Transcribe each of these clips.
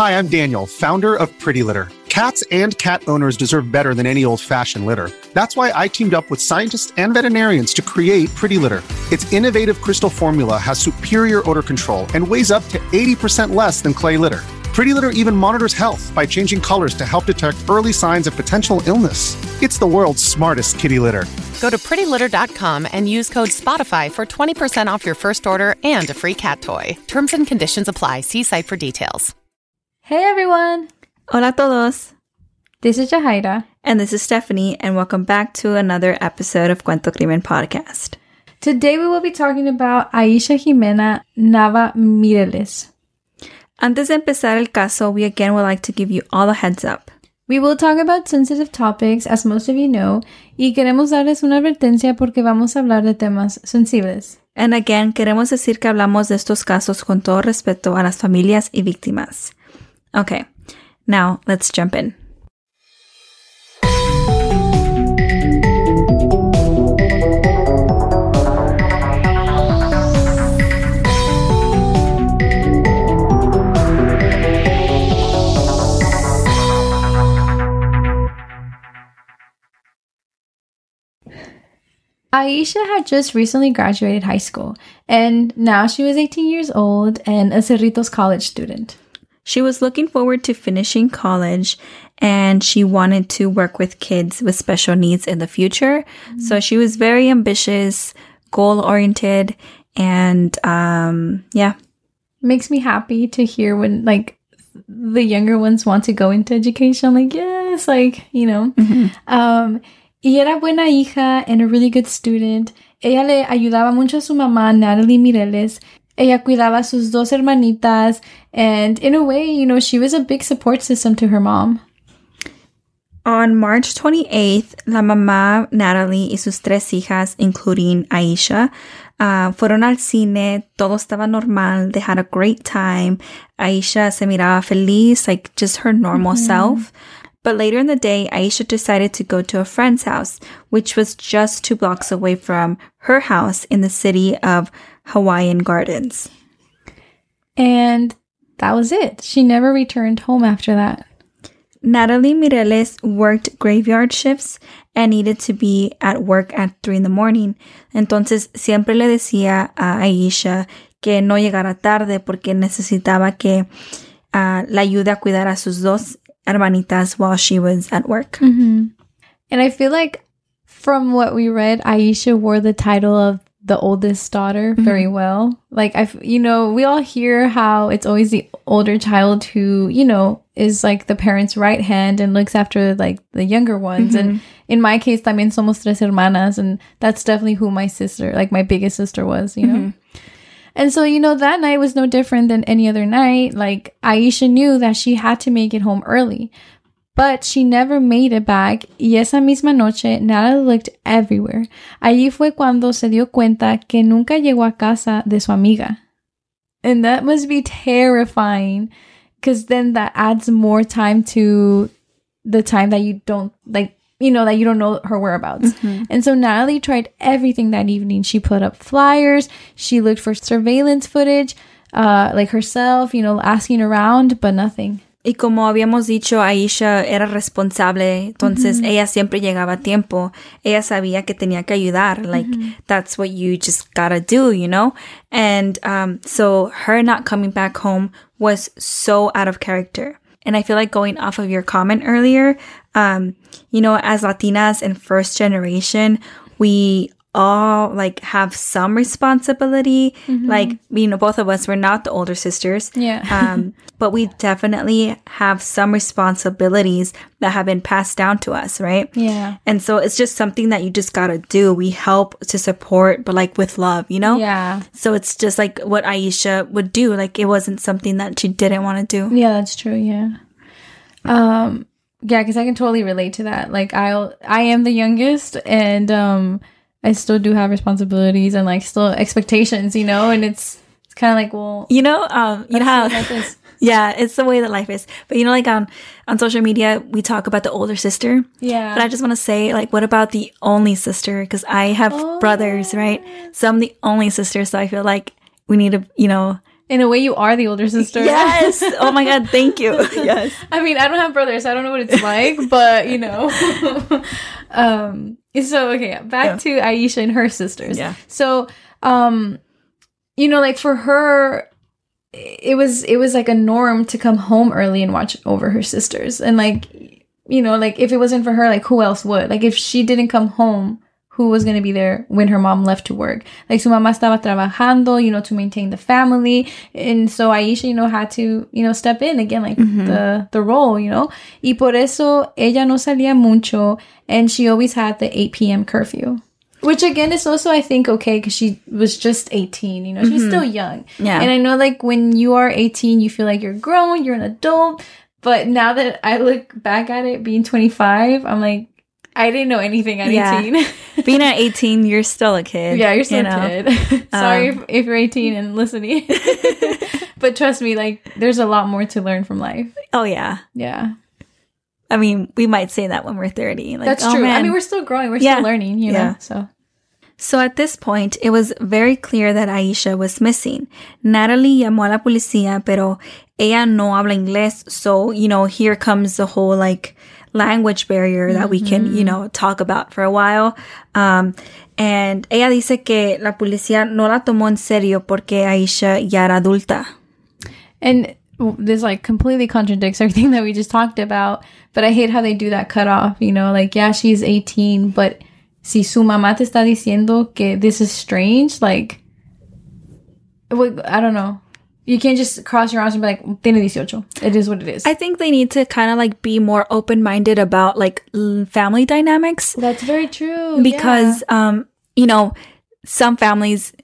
Hi, I'm Daniel, founder of Pretty Litter. Cats and cat owners deserve better than any old-fashioned litter. That's why I teamed up with scientists and veterinarians to create Pretty Litter. Its innovative crystal formula has superior odor control and weighs up to 80% less than clay litter. Pretty Litter even monitors health by changing colors to help detect early signs of potential illness. It's the world's smartest kitty litter. Go to prettylitter.com and use code SPOTIFY for 20% off your first order and a free cat toy. Terms and conditions apply. See site for details. Hey everyone! Hola a todos! This is Jahaira. And this is Stephanie, and welcome back to another episode of Cuento Crimen Podcast. Today we will be talking about Aisha Jimena Nava Mireles. Antes de empezar el caso, we again would like to give you all a heads up. We will talk about sensitive topics, as most of you know, y queremos darles una advertencia porque vamos a hablar de temas sensibles. And again, queremos decir que hablamos de estos casos con todo respeto a las familias y víctimas. Okay, now let's jump in. Aisha had just recently graduated high school, and now she was 18 years old and a Cerritos College student. She was looking forward to finishing college, and she wanted to work with kids with special needs in the future. Mm-hmm. So she was very ambitious, goal-oriented, and yeah. Makes me happy to hear when, the younger ones want to go into education. I'm like, yes, you know. Mm-hmm. Y era buena hija and a really good student. Ella le ayudaba mucho a su mamá, Natalie Mireles. Ella cuidaba a sus dos hermanitas. And in a way, you know, she was a big support system to her mom. On March 28th, la mamá, Natalie, y sus tres hijas, including Aisha, fueron al cine. Todo estaba normal. They had a great time. Aisha se miraba feliz, just her normal self. But later in the day, Aisha decided to go to a friend's house, which was just 2 blocks away from her house in the city of Hawaiian Gardens. And that was it. She never returned home after that. Natalie Mireles worked graveyard shifts and needed to be at work at 3 in the morning. Entonces, siempre le decía a Aisha que no llegara tarde porque necesitaba que la ayude a cuidar a sus dos hermanitas while she was at work. Mm-hmm. And I feel like from what we read, Aisha wore the title of the oldest daughter very well. We all hear how it's always the older child who, is the parent's right hand and looks after the younger ones. And in my case, también somos tres hermanas, and that's definitely who my sister, my biggest sister was, you know. And so, that night was no different than any other night. Aisha knew that she had to make it home early, but she never made it back. Y esa misma noche, Natalie looked everywhere. Allí fue cuando se dio cuenta que nunca llegó a casa de su amiga. And that must be terrifying, because then that adds more time to the time that you don't, that you don't know her whereabouts. Mm-hmm. And so Natalie tried everything that evening. She put up flyers. She looked for surveillance footage, herself, asking around, but nothing. Y como habíamos dicho, Aisha era responsable, entonces ella siempre llegaba a tiempo. Ella sabía que tenía que ayudar. That's what you just gotta do, you know? And so her not coming back home was so out of character. And I feel like going off of your comment earlier, as Latinas and first generation, we all have some responsibility. Both of us, we're not the older sisters. Yeah. But we definitely have some responsibilities that have been passed down to us, right? Yeah. And so it's just something that you just gotta do. We help to support, but with love, you know? Yeah. So it's just what Aisha would do. It wasn't something that she didn't want to do. Yeah, that's true. Yeah. Yeah, because I can totally relate to that. I am the youngest, and I still do have responsibilities and still expectations, and it's kind of well, how life is. Yeah, it's the way that life is. But on social media, we talk about the older sister. Yeah. But I just want to say, what about the only sister? Because I have brothers, right? So I'm the only sister. So I feel like we need to, In a way, you are the older sister. Yes. Oh my God. Thank you. Yes. I mean, I don't have brothers, so I don't know what it's like, but you know. So okay, back to Aisha and her sisters. Yeah. So, you know, like for her, it was like a norm to come home early and watch over her sisters. And like, you know, like if it wasn't for her, like who else would? Like if she didn't come home, who was going to be there when her mom left to work? Like su mamá estaba trabajando, you know, to maintain the family. And so Aisha, you know, had to, you know, step in again, like the role, you know. Y por eso ella no salía mucho, and she always had the 8 p.m. curfew. Which again is also, I think, okay, because she was just 18, you know, she's still young. Yeah. And I know like when you are 18, you feel like you're grown, you're an adult. But now that I look back at it being 25, I'm like, I didn't know anything at 18. Being at 18, you're still a kid. Yeah, you're still a kid. Sorry if you're 18 and listening. But trust me, like, there's a lot more to learn from life. Oh, yeah. Yeah. I mean, we might say that when we're 30. Like, that's true. Man. I mean, we're still growing. We're still learning, you know, So at this point, it was very clear that Aisha was missing. Natalie llamó a la policía, pero ella no habla inglés. So, you know, here comes the whole, like, language barrier that we can, you know, talk about for a while. And ella dice que la policía no la tomó en serio porque Aisha ya era adulta. And this, like, completely contradicts everything that we just talked about. But I hate how they do that cutoff, you know, like, yeah, she's 18, but si su mamá te está diciendo que this is strange, like, I don't know. You can't just cross your arms and be like, tiene 18. It is what it is. I think they need to kind of like be more open-minded about like family dynamics. That's very true. Because, you know, some families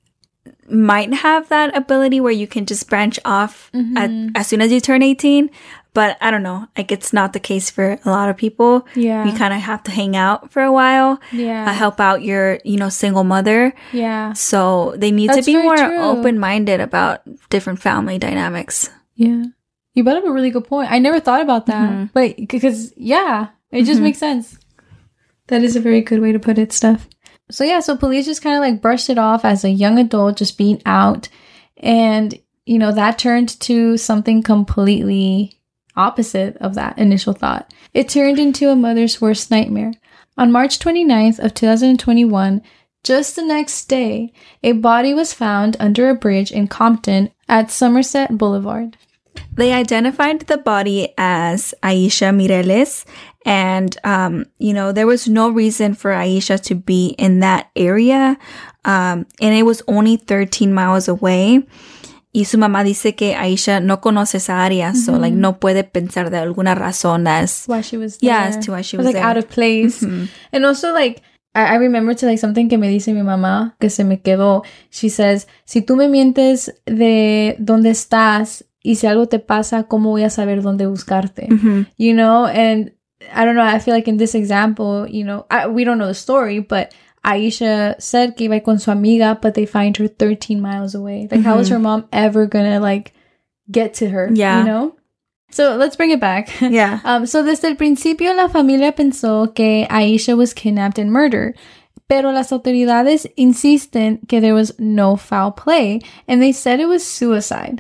might have that ability where you can just branch off as soon as you turn 18. But I don't know, like it's not the case for a lot of people. Yeah. You kind of have to hang out for a while. Yeah. Help out your, you know, single mother. Yeah. So they need to be more open-minded about different family dynamics. Yeah. You brought up a really good point. I never thought about that. But because, yeah, it just makes sense. That is a very good way to put it, Steph. So yeah, so police just kind of like brushed it off as a young adult just being out. And, you know, that turned to something completely opposite of that initial thought. It turned into a mother's worst nightmare. On March 29th of 2021, just the next day, a body was found under a bridge in Compton at Somerset Boulevard. They identified the body as Aisha Mireles, and, you know, there was no reason for Aisha to be in that area, and it was only 13 miles away. Y su mamá dice que Aisha no conoce esa área, so like no puede pensar de alguna razón that's why she was there. Yeah, as to why she was like there. Out of place. And also like I remember to like something que me dice mi mamá que se me quedó. She says, si tú me mientes de dónde estás y si algo te pasa, ¿cómo voy a saber dónde buscarte? You know, and I don't know, I feel like in this example, you know, we don't know the story, but Aisha said que iba con su amiga, but they find her 13 miles away. Like, how is her mom ever gonna, like, get to her? Yeah. You know? So, let's bring it back. Yeah. So, desde el principio, la familia pensó que Aisha was kidnapped and murdered. Pero las autoridades insisten que there was no foul play, and they said it was suicide.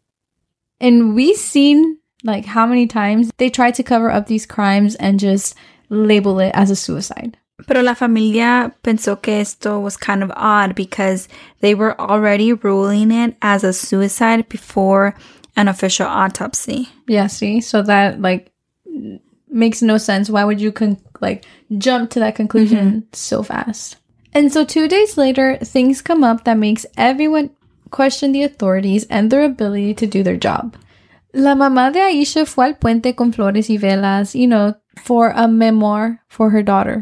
And we've seen, like, how many times they tried to cover up these crimes and just label it as a suicide. Pero la familia pensó que esto was kind of odd because they were already ruling it as a suicide before an official autopsy. Yeah, see? So that, like, makes no sense. Why would you, jump to that conclusion so fast? And so 2 days later, things come up that makes everyone question the authorities and their ability to do their job. La mamá de Aisha fue al puente con flores y velas, you know, for a memoir for her daughter.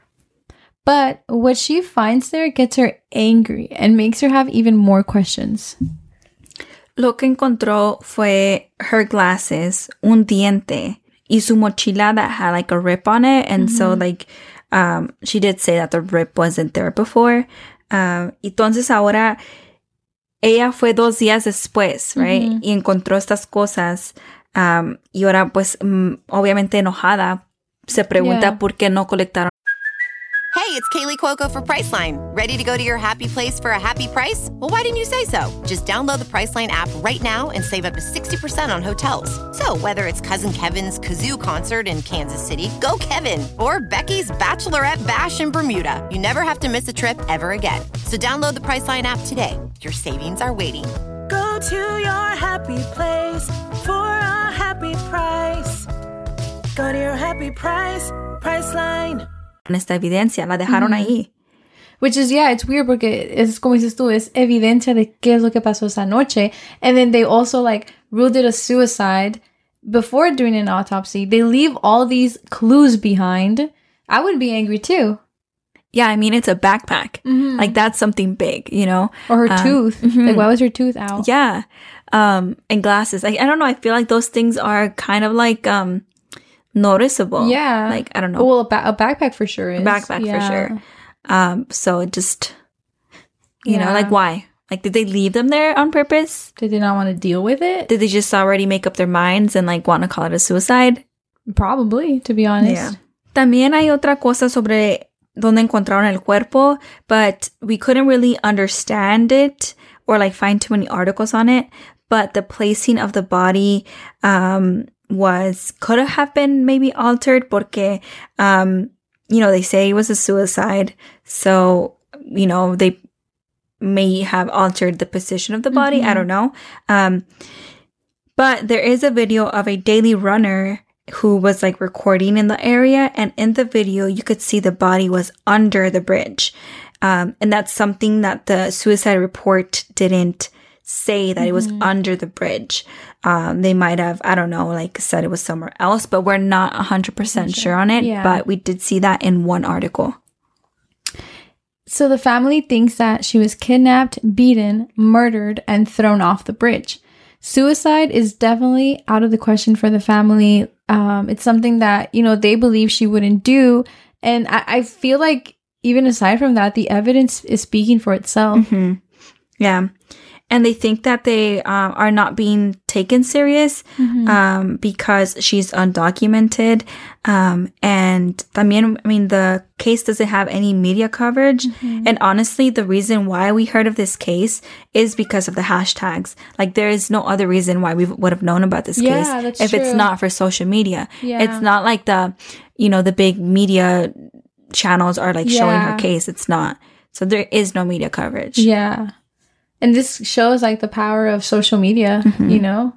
But what she finds there gets her angry and makes her have even more questions. Lo que encontró fue her glasses, un diente, y su mochila that had like a rip on it. And so like, she did say that the rip wasn't there before. Entonces ahora, ella fue 2 días después, right? Y encontró estas cosas. Y ahora pues, obviamente enojada, se pregunta por qué no colectaron. Hey, it's Kaylee Cuoco for Priceline. Ready to go to your happy place for a happy price? Well, why didn't you say so? Just download the Priceline app right now and save up to 60% on hotels. So whether it's Cousin Kevin's Kazoo Concert in Kansas City, go Kevin, or Becky's Bachelorette Bash in Bermuda, you never have to miss a trip ever again. So download the Priceline app today. Your savings are waiting. Go to your happy place for a happy price. Go to your happy price, Priceline. Esta evidencia, la dejaron ahí. Which is, yeah, it's weird porque es como dices tú, es evidencia de qué es lo que pasó esa noche. And then they also like ruled it a suicide before doing an autopsy. They leave all these clues behind. I would be angry too. Yeah, I mean, it's a backpack. Like, that's something big, you know? Or her tooth. Like, why was her tooth out? Yeah. And glasses. I don't know. I feel like those things are kind of like noticeable. Yeah. Like, I don't know. Well, a backpack for sure is. Backpack for sure. So it just, you know, like, why? Like, did they leave them there on purpose? Did they not want to deal with it? Did they just already make up their minds and, like, want to call it a suicide? Probably, to be honest. Yeah. También hay otra cosa sobre donde encontraron el cuerpo, but we couldn't really understand it or, like, find too many articles on it. But the placing of the body could have been maybe altered porque, you know, they say it was a suicide. So, you know, they may have altered the position of the body. I don't know. But there is a video of a daily runner who was like recording in the area. And in the video, you could see the body was under the bridge. And that's something that the suicide report didn't say, that it was under the bridge. They might have, I don't know, like said it was somewhere else, but we're not 100% sure on it. Yeah. But we did see that in one article. So the family thinks that she was kidnapped, beaten, murdered, and thrown off the bridge. Suicide is definitely out of the question for the family. It's something that, you know, they believe she wouldn't do. And I feel like even aside from that, the evidence is speaking for itself. Yeah. And they think that they are not being taken serious because she's undocumented. And también, I mean, the case doesn't have any media coverage. And honestly, the reason why we heard of this case is because of the hashtags. Like, there is no other reason why we would have known about this case if it's not for social media. It's not like the, you know, the big media channels are like showing her case. It's not. So there is no media coverage. Yeah. And this shows like the power of social media, you know?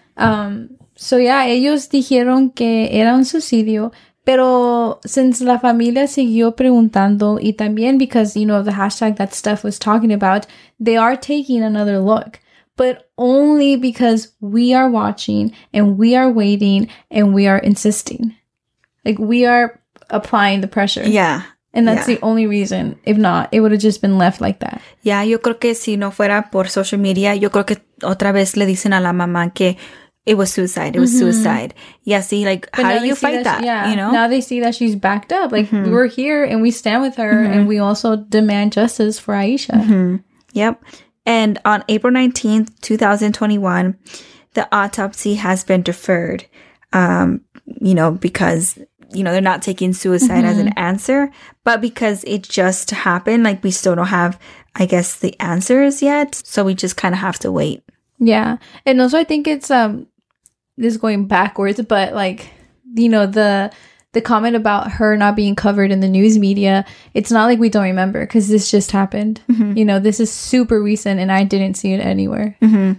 So yeah, ellos dijeron que era un suicidio, pero since la familia siguió preguntando y también because, you know, the hashtag that Steph was talking about, they are taking another look, but only because we are watching and we are waiting and we are insisting. Like, we are applying the pressure. Yeah. And that's the only reason. If not, it would have just been left like that. Yeah, yo creo que si no fuera por social media, yo creo que otra vez le dicen a la mamá que it was suicide. It was suicide. Y así, like, But how do you fight that? Yeah. You know? Now they see that she's backed up. Like, we're here and we stand with her and we also demand justice for Aisha. Yep. And on April 19th, 2021, the autopsy has been deferred, you know, because, you know, they're not taking suicide as an answer, but because it just happened, like, we still don't have, I guess, the answers yet. So we just kind of have to wait. Yeah. And also I think it's, this is going backwards, but like, you know, the comment about her not being covered in the news media, it's not like we don't remember because this just happened. You know, this is super recent and I didn't see it anywhere.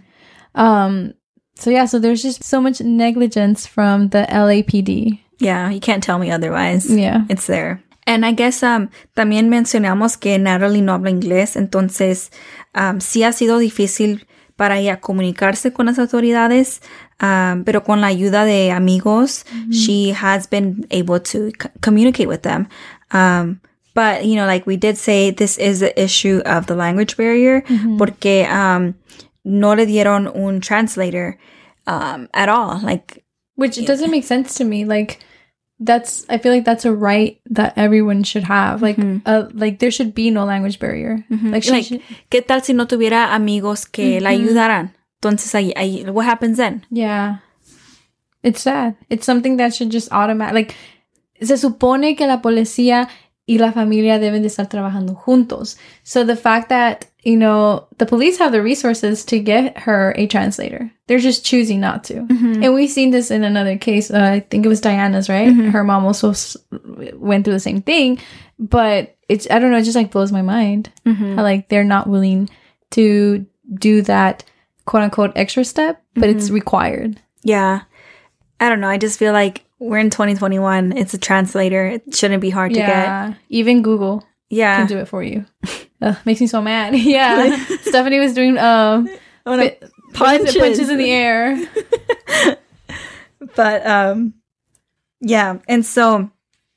So yeah, so there's just so much negligence from the LAPD. Yeah, you can't tell me otherwise. Yeah. It's there. And I guess también mencionamos que Natalie no habla inglés, entonces sí ha sido difícil para ella comunicarse con las autoridades, pero con la ayuda de amigos, she has been able to communicate with them. But, you know, like we did say, this is the issue of the language barrier, porque no le dieron un translator at all. Like, which doesn't make sense to me. Like, I feel like that's a right that everyone should have. Like, like there should be no language barrier. Like, ¿qué tal si no tuviera amigos que la ayudaran? Entonces, ahí, what happens then? Yeah. It's sad. It's something that should just automatic. Like, se supone que la policía y la familia deben de estar trabajando juntos. So the fact that, you know, the police have the resources to get her a translator, they're just choosing not to. And we've seen this in another case. I think it was Diana's, right? Her mom also went through the same thing, but it's, I don't know, it just like blows my mind how like they're not willing to do that quote unquote extra step, but it's required. Yeah. I don't know. I just feel like we're in 2021. It's a translator. It shouldn't be hard to get. Even Google can do it for you. Makes me so mad. Yeah. Stephanie was doing punches in the air. But yeah. And so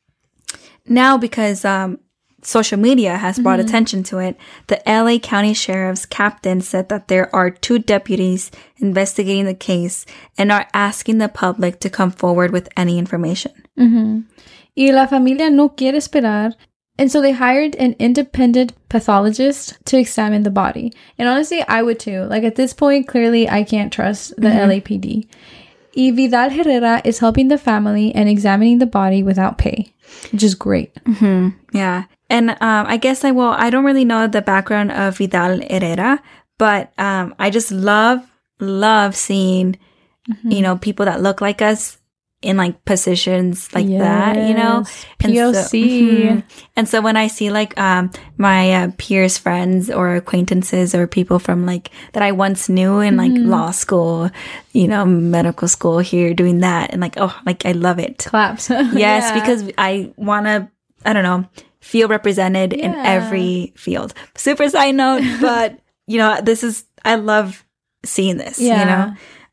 now because social media has brought attention to it, the LA County Sheriff's captain said that there are 2 deputies investigating the case and are asking the public to come forward with any information. Y la familia no quiere esperar. And so they hired an independent pathologist to examine the body. And honestly, I would too. Like at this point, clearly I can't trust the LAPD. Y Vidal Herrera is helping the family and examining the body without pay, which is great. Yeah. And I guess I don't really know the background of Vidal Herrera, but I just love seeing, you know, people that look like us in like positions like that, you know? And POC. And so when I see like my peers, friends or acquaintances or people from like that I once knew in like law school, you know, medical school here doing that, and like, oh, like I love it. Claps. Yes, because I want to, I don't know, feel represented in every field. Super side note, but you know, I love seeing this, you know?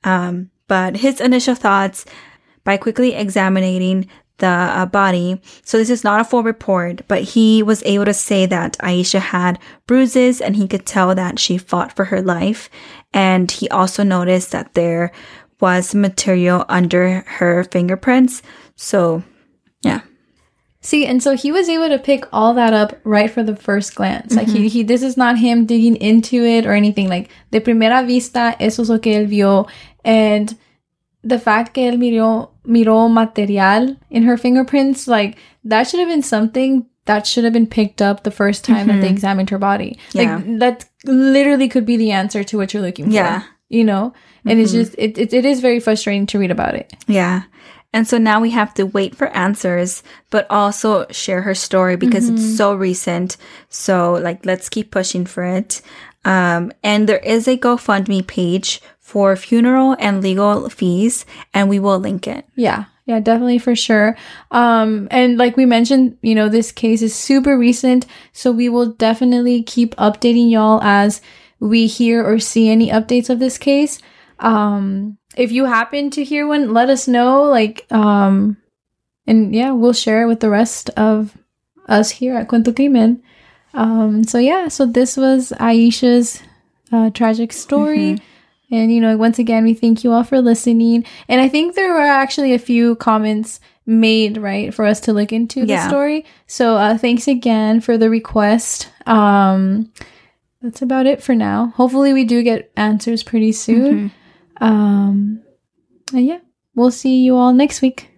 But his initial thoughts by quickly examining the body. So this is not a full report, but he was able to say that Aisha had bruises and he could tell that she fought for her life. And he also noticed that there was material under her fingerprints. So, yeah. See, and so he was able to pick all that up right for the first glance. Like he this is not him digging into it or anything. Like de primera vista, eso es lo que él vio. And the fact que él miró material in her fingerprints, like that should have been something that should have been picked up the first time that they examined her body. Yeah. Like that literally could be the answer to what you're looking for. Yeah. You know? And it's just, it is very frustrating to read about it. Yeah. And so now we have to wait for answers, but also share her story because it's so recent. So like, let's keep pushing for it. And there is a GoFundMe page for funeral and legal fees, and we will link it. Yeah, definitely for sure. And like we mentioned, you know, this case is super recent, so we will definitely keep updating y'all as we hear or see any updates of this case. If you happen to hear one, let us know, like, and yeah, we'll share it with the rest of us here at Cuento Crimen. So this was Aisha's tragic story. And, you know, once again, we thank you all for listening. And I think there were actually a few comments made, right, for us to look into the story. So thanks again for the request. That's about it for now. Hopefully we do get answers pretty soon. And yeah, we'll see you all next week.